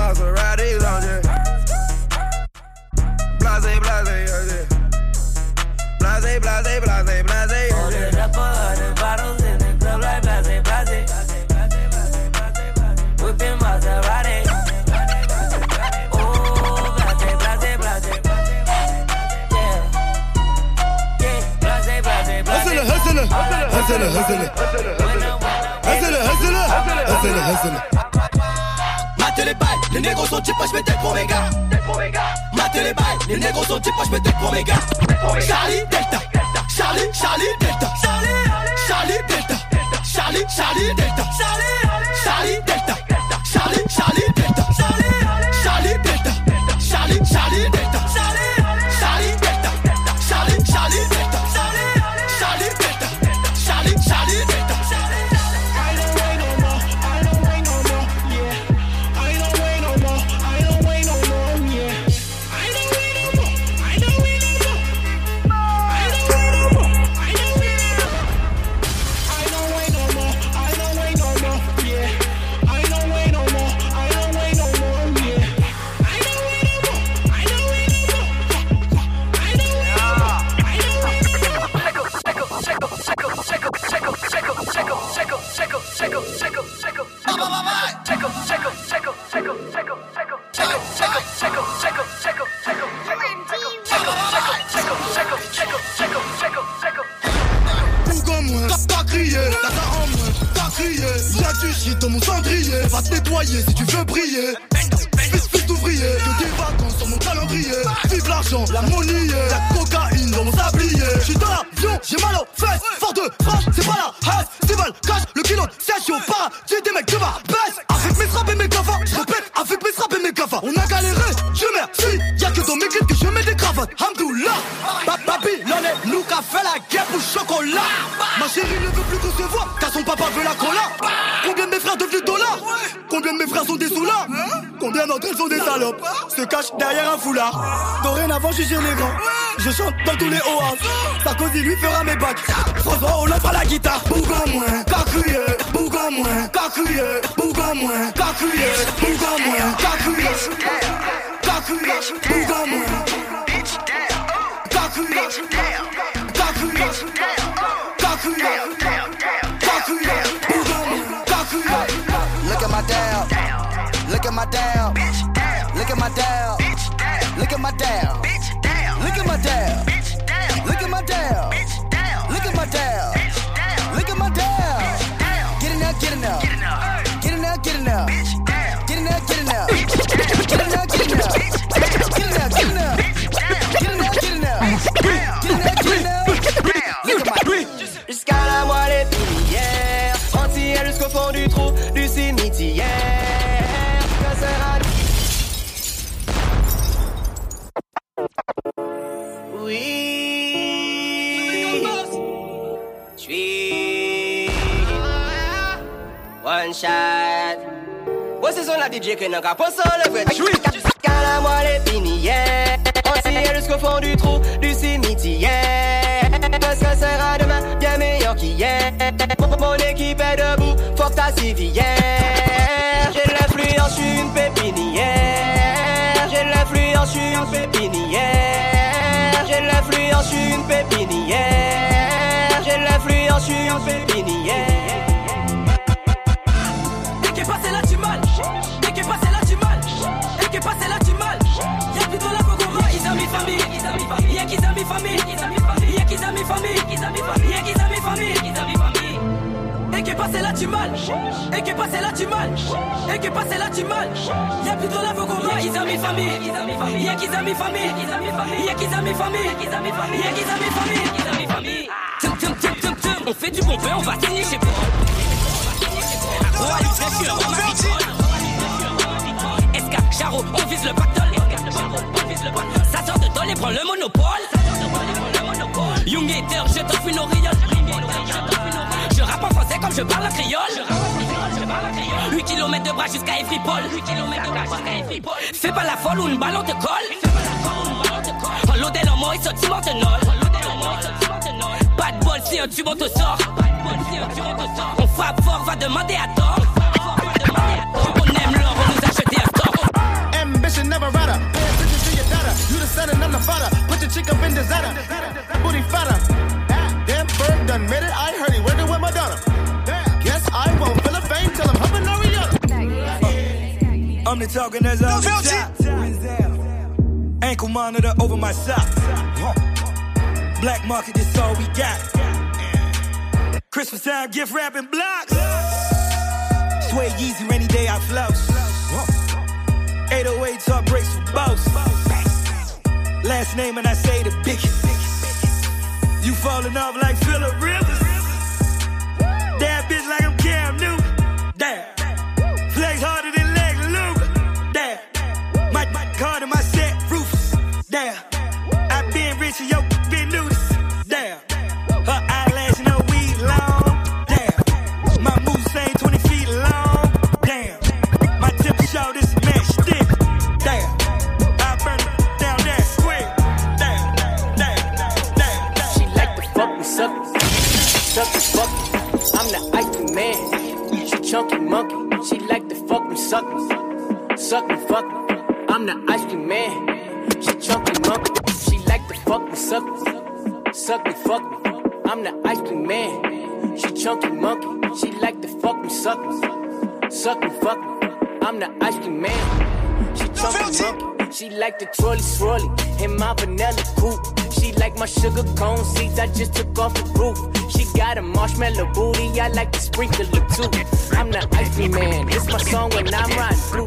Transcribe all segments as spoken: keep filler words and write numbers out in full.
Maserati lounge. Blase, blase, blase. Blase, blase, blase, blase. Ordered up a hundred bottles in the club like blase, blase. Whipping Maserati. Oh, blase, blase, blase. Yeah. Yeah, blase, blase, blase. Hustle it, hustle it. Hustle it, hustle it. Hustle it, hustle it. Hustle it, hustle it. Mate les balles, les négros sont types, je mets tête pour mes gars. Mate les balles, les négros sont types, je mets tête pour mes gars. Charlie Delta, Charlie, Charlie Delta, Charlie Delta, Charlie, Charlie Delta, Charlie Delta, Charlie, Charlie Delta, Charlie Delta, Charlie, Charlie Delta, Charlie Delta, Charlie, Charlie Delta, Charlie Delta, Charlie, Charlie Delta. I don't wait no more, I don't wait no more, yeah. I don't wait no more, I don't wait no more, yeah. I don't wait no more, I don't wait no more. I don't wait no more, I don't wait no more. I don't wait no more, I don't wait no more, yeah. I don't wait no more, I don't wait no more, yeah. I don't wait no more, I don't wait no more. I don't wait no more, I don't wait no more. Bougon moins, t'as crié, t'as ta en moins, t'as crié. Y'a du shit dans mon cendrier, va te nettoyer si tu veux briller. Fils, fils d'ouvrier, que des vacances sur mon calendrier. Vive l'argent, la monnaie, la cocaïne dans mon sablier. J'suis dans l'avion, j'ai mal aux fesses, fort de frappe, c'est pas la haisse. C'est mal, cache le kilo, c'est chaud, pas. J'ai des mecs de ma baisse. Avec mes straps et mes cafards, j'répète, avec mes straps et mes cafards. On a galéré, je merci. Y'a que dans mes clips que je mets des cravates. Hamdoullah, Babylone, nous qu'a fait la guerre pour le chocolat. Ma chérie ne veut plus qu'on se voit, car son papa veut la cola. Combien de mes frères devenus dollars? Combien de mes frères sont des soulards? Combien d'entre elles sont des salopes? Se cachent derrière un foulard. Dorénavant je suis chez les grands, je chante dans tous les oasis. Sarkozy lui fera mes bacs, François Hollande fera la guitare. Bougon moins, cacuye, bougon moins, cacuye, bougon moins, cacuye, bougon moins, cacuye, cacuye, bougon moins, cacuye, cacuye, cacuye, cacuye, bougon moins, cacuye. Look at my dab, look at my dab, look at my dab, look at my dab, look at my dab, look at my dab, look at my dab, look at my dab. Get in there, get in there, get in there, get in there, get in there, get in there, get in there, get in there, get in there, get in there, get in there, get in there, get in there, get in there. Look at my. Jusqu'à la moelle épinière, entière jusqu'au fond du trou du cimetière. Que sera... Oui, j'suis one shot. Ouais, c'est son la D J que n'a qu'à penser le vrai. J'suis jusqu'à la moelle épinière, entière jusqu'au fond du trou du cimetière. Que ce sera demain bien meilleur qu'hier. Mon équipe est debout, faut que ta civière. J'ai de l'influence, j'suis une pépinière. J'ai de l'influence, j'suis une pépinière. J'ai de l'influence, j'suis une pépinière. J'ai de l'influence, j'suis une pépinière. Dès qu'est passé là tu mal. Dès qu'est passé là tu mal. Dès qu'est passé là tu mal. Y'a plus de la Pogoma. Ils ont mis famille. Y'a qu'ils ont mis famille. Y'a qu'ils ont mis famille. Y'a qu'ils ont mis famille. Et que passé là tu mal. Et que passé là tu mal. Et que passé là tu mal. Y'a plus de la Pogoma. Ils ont mis famille. Y'a qu'ils ont mis famille. Y'a qu'ils ont mis famille. Y'a qu'ils ont mis famille. Tum tum tum tum tum. On fait du bon feu, on va signer chez vous. Oh, allez, flèche, on va Esca, Charo, on vise le pactole. Ça sort de Dole et prend le monopole. Young Hater, je t'offre une auréole. Je rappe en français comme je parle en créole. huit kilomètres de bras jusqu'à Everypol. Fais pas la folle ou une balle on te colle. En l'odel en mort, il saute sur Montenol. Pas de bol si un tube on te sort. On frappe fort, va demander à tort. On aime l'or, on nous a jeté à tort. talking, that's all the top. Ankle monitor over my socks. Black market, that's all we got. Christmas time, gift wrapping blocks. Sway Yeezy, rainy day I flouse. eight oh eight talk breaks for boss. Last name and I say the biggest. You falling off like Phillip Rivers. That bitch like I'm Cam Newton. Damn. Flex harder than Lex Luger. Damn. My, my card in my set, Rufus. Damn. I been rich and yo been nudist. Damn. Her eyelash no weed long. Damn. My moves ain't twenty feet long. Damn. My tip short is match stick. Damn. I burn it down that square. Damn. Damn. Damn. Damn. She like to fuck me, suck me. Suck me, fuck me. I'm the ice cream man. She chunky monkey. She like to fuck me, suck me. Suck me, fuck me. I'm the ice cream man. She chunky monkey. She like to fuck me, suck me. Suck me, fuck me. I'm the ice cream man. She chunky monkey. She like to fuck me, suck me. Suck me, fuck me. I'm the ice cream man. She chunky monkey. She like the trolley swirly in my vanilla coupe. She like my sugar cone seeds. I just took off the roof. She got a marshmallow booty. I like to sprinkle it too. I'm the ice cream man. It's my song when I'm riding through.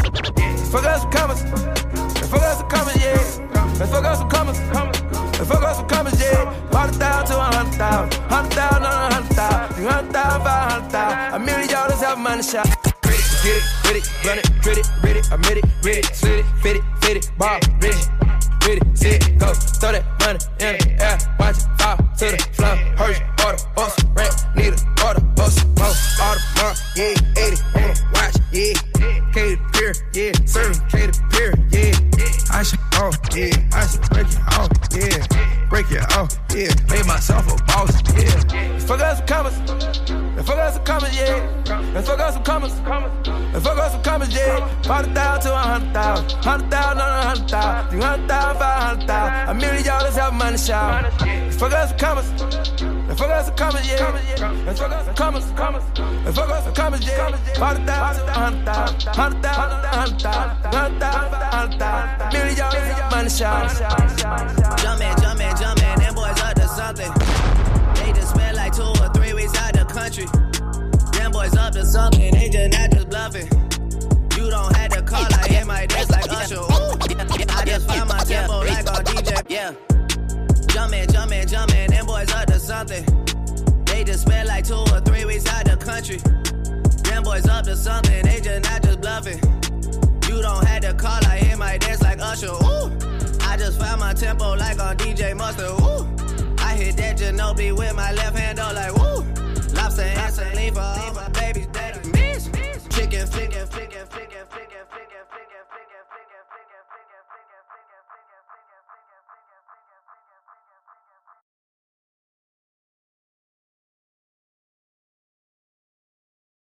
Fuck us some commas. Fuck us some commas, yeah. Let's fuck us some commas. Let's fuck us some commas, yeah. Hundred thousand to a hundred thousand. Hundred thousand on a hundred thousand. Three hundred thousand, five hundred thousand. A million dollars have money shot. Get it, get it, run it, get it, ready, admit it, ready, slit it, fit it, fit it, ball, ready, ready, sit it, go, throw that money in the air, watch it fall to the floor, Hershey, order, bus, rent, need a order, bus, mo, order, mark, yeah, eighty, on the watch, yeah, K to pier, yeah, serving K to pier, yeah, I should off, yeah, I should break it off, yeah, break it off, yeah, made myself a boss, yeah, fuck us some commas. Let's fuck us some commas, yeah. Let's fuck us some commas. Let's fuck us some commas, yeah. Hundred thousand to a hundred thousand. Hundred thousand on a hundred thousand. Three hundred thousand, five hundred thousand. A million dollars have money shower. Let's fuck us some commas. Let's fuck us some commas, yeah. Let's fuck us some commas. Let's fuck us some commas, yeah. Hundred thousand to a hundred thousand. Hundred thousand to a hundred thousand. Hundred thousand, five hundred thousand. A million dollars have money shower. Jumpin', jumpin', jumpin'. Them boys up to something. They just spent like two or three weeks out the country. Them boys up to something, they just not just bluffing. You don't have to call, I hit my desk like Usher. Ooh. I just find my tempo like on D J. Yeah. Jumpin', jumpin', jumpin', them boys up to something. They just spent like two or three weeks out the country. Them boys up to something, they just not just bluffing. You don't have to call, I hit my desk like Usher. Ooh. I just found my tempo like on D J Mustard. Ooh. I hit that Ginobili with my left hand, though, like woo. Lobster and saline for all my babies that I miss. Chicken, flickin', flickin'.